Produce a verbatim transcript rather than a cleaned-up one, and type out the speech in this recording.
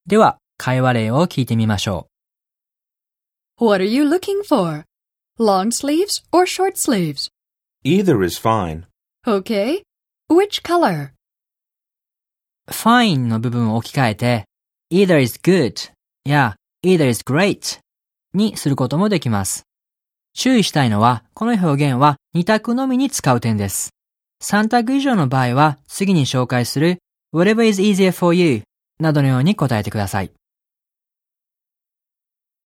では、会話例を聞いてみましょう。What are you looking for? Long sleeves or short sleeves? Either is fine. Okay. Which color? fine の部分を置き換えて either is good や either is great にすることもできます。注意したいのは、この表現はに択のみに使う点です。さん択以上の場合は、次に紹介する whatever is easier for you などのように答えてください。